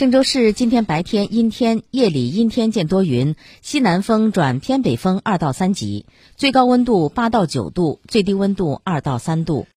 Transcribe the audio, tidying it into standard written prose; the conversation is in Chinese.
郑州市今天白天阴天，夜里阴天见多云，西南风转偏北风2到3级，最高温度8到9度，最低温度2到3度。